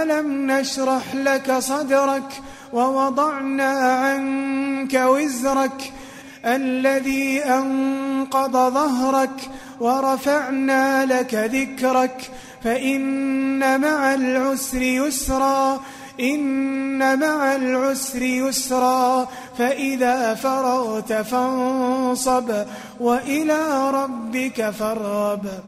ألم نشرح لك صدرك ووضعنا عنك وزرك الذي أنقض ظهرك ورفعنا لك ذكرك فإن مع العسر يسرا إن مع العسر يسرا فإذا فرغت فانصب وإلى ربك فارغب.